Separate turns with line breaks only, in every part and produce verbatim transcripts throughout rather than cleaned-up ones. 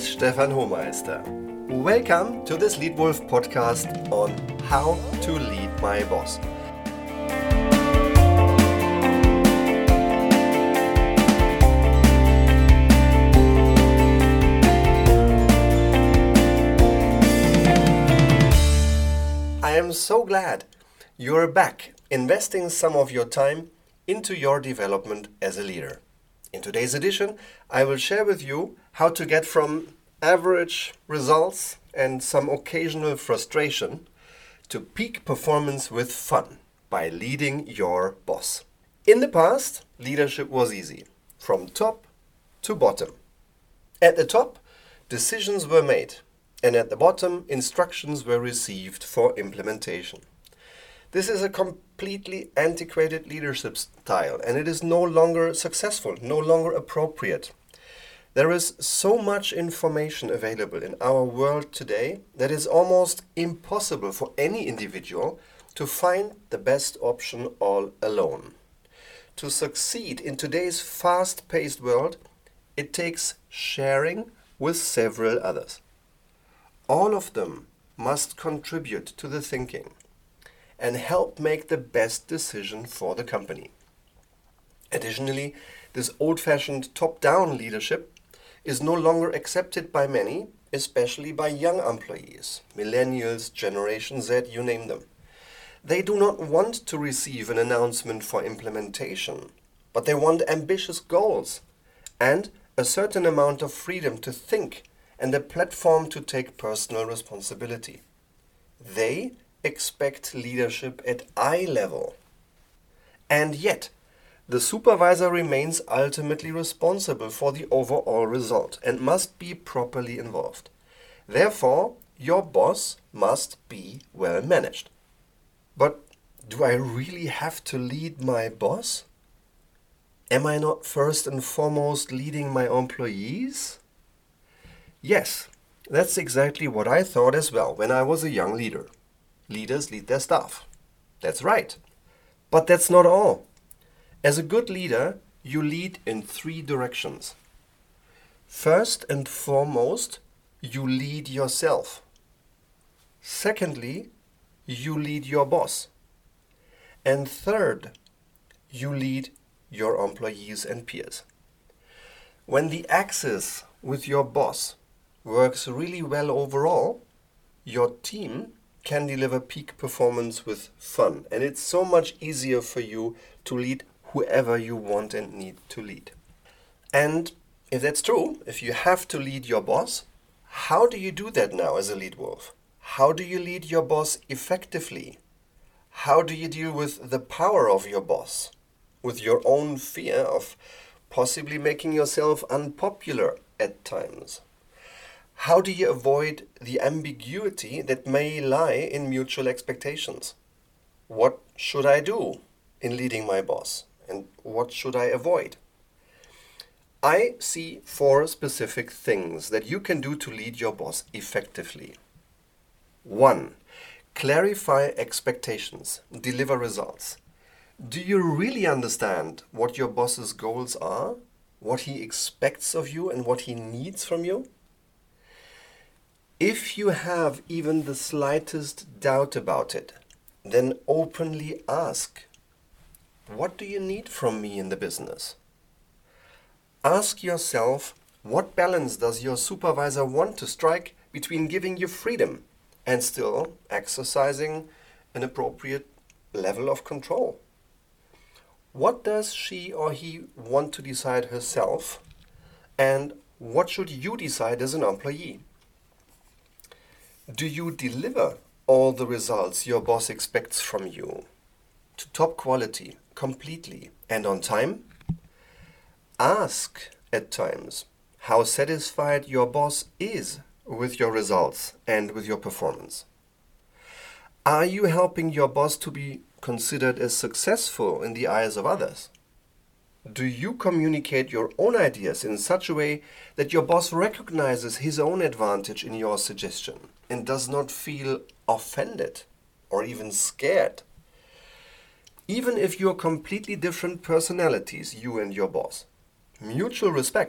is Stefan Hohmeister. Welcome to this Leadwolf podcast on how to lead my boss. I am so glad you're back investing some of your time into your development as a leader. In today's edition, I will share with you how to get from average results and some occasional frustration to peak performance with fun by leading your boss. In the past, leadership was easy, from top to bottom. At the top, decisions were made, and at the bottom, instructions were received for implementation. This is a completely antiquated leadership style, and it is no longer successful, no longer appropriate. There is so much information available in our world today that it's almost impossible for any individual to find the best option all alone. To succeed in today's fast-paced world, it takes sharing with several others. All of them must contribute to the thinking and help make the best decision for the company. Additionally, this old-fashioned top-down leadership is no longer accepted by many, especially by young employees, millennials, Generation Z, you name them. They do not want to receive an announcement for implementation, but they want ambitious goals and a certain amount of freedom to think and a platform to take personal responsibility. They expect leadership at eye level. And yet, the supervisor remains ultimately responsible for the overall result and must be properly involved. Therefore, your boss must be well managed. But do I really have to lead my boss? Am I not first and foremost leading my employees? Yes, that's exactly what I thought as well when I was a young leader. Leaders lead their staff. That's right. But that's not all. As a good leader, you lead in three directions. First and foremost, you lead yourself. Secondly, you lead your boss. And third, you lead your employees and peers. When the axis with your boss works really well overall, your team can deliver peak performance with fun. And it's so much easier for you to lead whoever you want and need to lead. And if that's true, if you have to lead your boss, how do you do that now as a lead wolf? How do you lead your boss effectively? How do you deal with the power of your boss? With your own fear of possibly making yourself unpopular at times? How do you avoid the ambiguity that may lie in mutual expectations? What should I do in leading my boss? And what should I avoid? I see four specific things that you can do to lead your boss effectively. One, clarify expectations, deliver results. Do you really understand what your boss's goals are, what he expects of you, and what he needs from you? If you have even the slightest doubt about it, then openly ask, what do you need from me in the business? Ask yourself, what balance does your supervisor want to strike between giving you freedom and still exercising an appropriate level of control? What does she or he want to decide herself, and what should you decide as an employee? Do you deliver all the results your boss expects from you to top quality, completely, and on time? Ask at times how satisfied your boss is with your results and with your performance. Are you helping your boss to be considered as successful in the eyes of others? Do you communicate your own ideas in such a way that your boss recognizes his own advantage in your suggestion and does not feel offended or even scared? Even if you're completely different personalities, you and your boss, mutual respect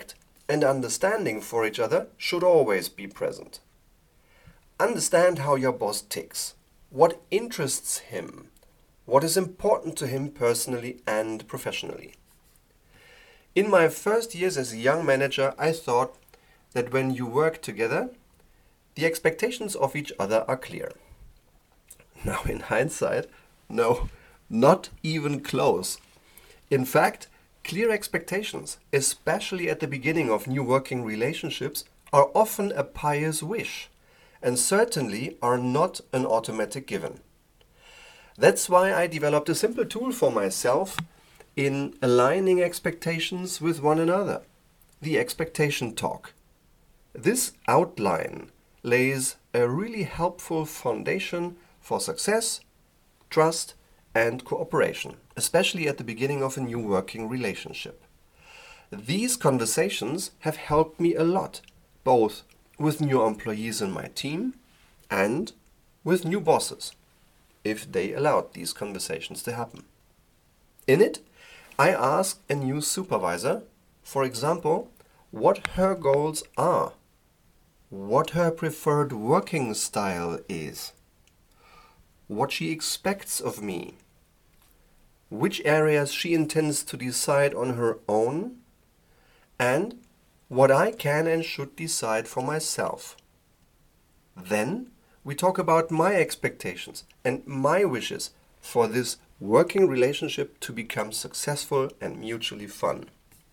and understanding for each other should always be present. Understand how your boss ticks, what interests him, what is important to him personally and professionally. In my first years as a young manager, I thought that when you work together, the expectations of each other are clear. Now, in hindsight, no, not even close. In fact, clear expectations, especially at the beginning of new working relationships, are often a pious wish and certainly are not an automatic given. That's why I developed a simple tool for myself in aligning expectations with one another, the expectation talk. This outline lays a really helpful foundation for success, trust, and cooperation, especially at the beginning of a new working relationship. These conversations have helped me a lot, both with new employees in my team and with new bosses, if they allowed these conversations to happen. In it, I ask a new supervisor, for example, what her goals are, what her preferred working style is, what she expects of me, which areas she intends to decide on her own, and what I can and should decide for myself. Then we talk about my expectations and my wishes for this working relationship to become successful and mutually fun.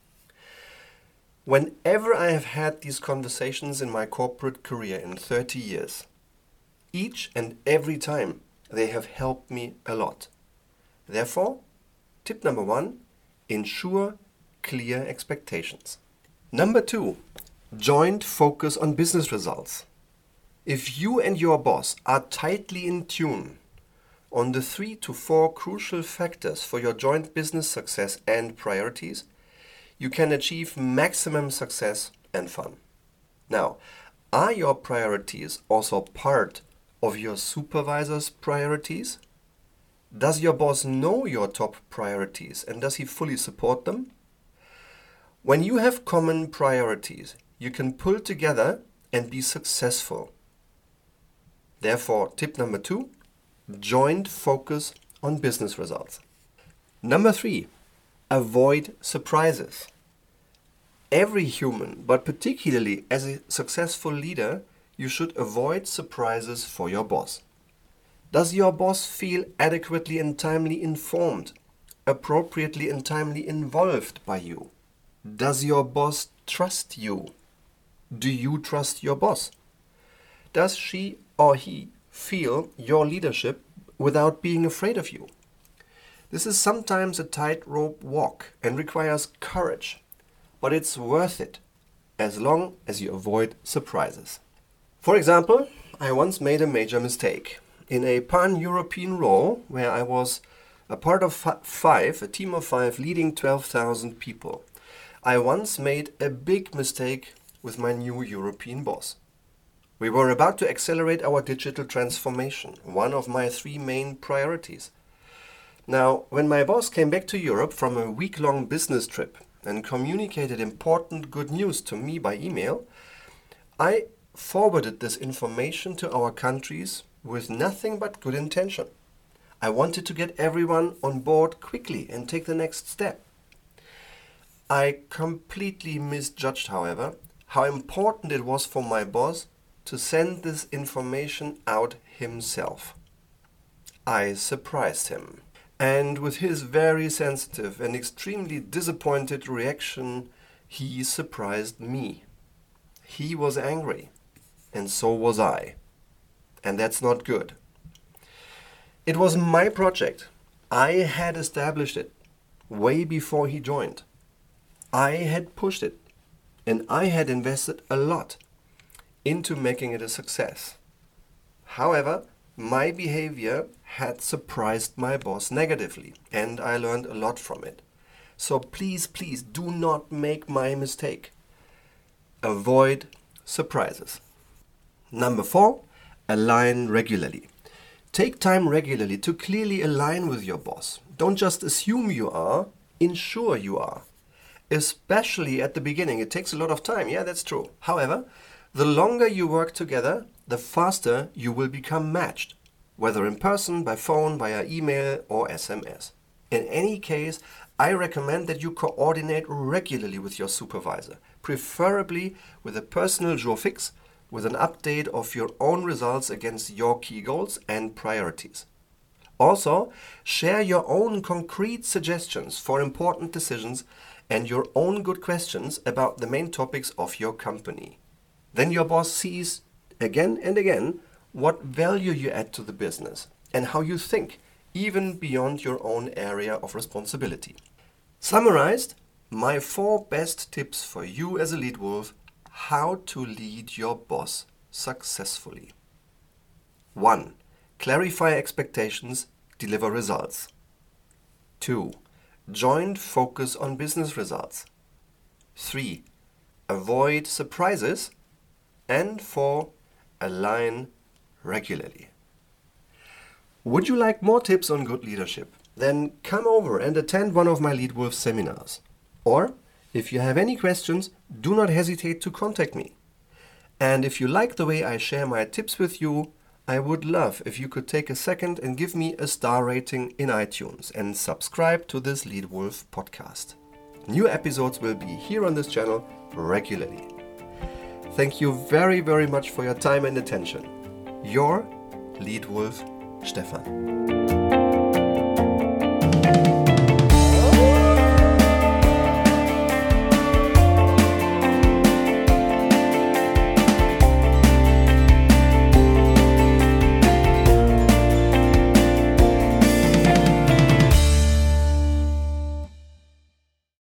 Whenever I have had these conversations in my corporate career in thirty years, each and every time they have helped me a lot. Therefore, tip number one, ensure clear expectations. Number two, joint focus on business results. If you and your boss are tightly in tune on the three to four crucial factors for your joint business success and priorities, you can achieve maximum success and fun. Now, are your priorities also part of your supervisor's priorities? Does your boss know your top priorities and does he fully support them? When you have common priorities, you can pull together and be successful. Therefore, tip number two, joint focus on business results. Number three, avoid surprises. Every human, but particularly as a successful leader, you should avoid surprises for your boss. Does your boss feel adequately and timely informed, appropriately and timely involved by you? Does your boss trust you? Do you trust your boss? Does she or he feel your leadership without being afraid of you? This is sometimes a tightrope walk and requires courage, but it's worth it as long as you avoid surprises. For example, I once made a major mistake. In a pan-European role where I was a part of five, a team of five leading twelve thousand people, I once made a big mistake with my new European boss. We were about to accelerate our digital transformation, one of my three main priorities. Now, when my boss came back to Europe from a week-long business trip and communicated important good news to me by email, I forwarded this information to our countries with nothing but good intention. I wanted to get everyone on board quickly and take the next step. I completely misjudged, however, how important it was for my boss to send this information out himself. I surprised him, and with his very sensitive and extremely disappointed reaction, he surprised me. He was angry, and so was I. And that's not good. It was my project. I had established it way before he joined. I had pushed it, and I had invested a lot into making it a success. However, my behavior had surprised my boss negatively, and I learned a lot from it. So please, please do not make my mistake. Avoid surprises. Number four, align regularly. Take time regularly to clearly align with your boss. Don't just assume you are, ensure you are. especially at the beginning. It takes a lot of time. Yeah, that's true. However, the longer you work together, the faster you will become matched, whether in person, by phone, via email or S M S. In any case, I recommend that you coordinate regularly with your supervisor, preferably with a personal jour fixe, with an update of your own results against your key goals and priorities. Also, share your own concrete suggestions for important decisions and your own good questions about the main topics of your company. Then your boss sees again and again what value you add to the business and how you think, even beyond your own area of responsibility. Summarized, my four best tips for you as a lead wolf: how to lead your boss successfully. one. Clarify expectations, deliver results. two. Joint focus on business results. three. Avoid surprises. And four. Align regularly. Would you like more tips on good leadership? Then come over and attend one of my Lead Wolf seminars. Or, if you have any questions, do not hesitate to contact me. And if you like the way I share my tips with you, I would love if you could take a second and give me a star rating in iTunes and subscribe to this Lead Wolf podcast. New episodes will be here on this channel regularly. Thank you very, very much for your time and attention. Your Lead Wolf, Stefan.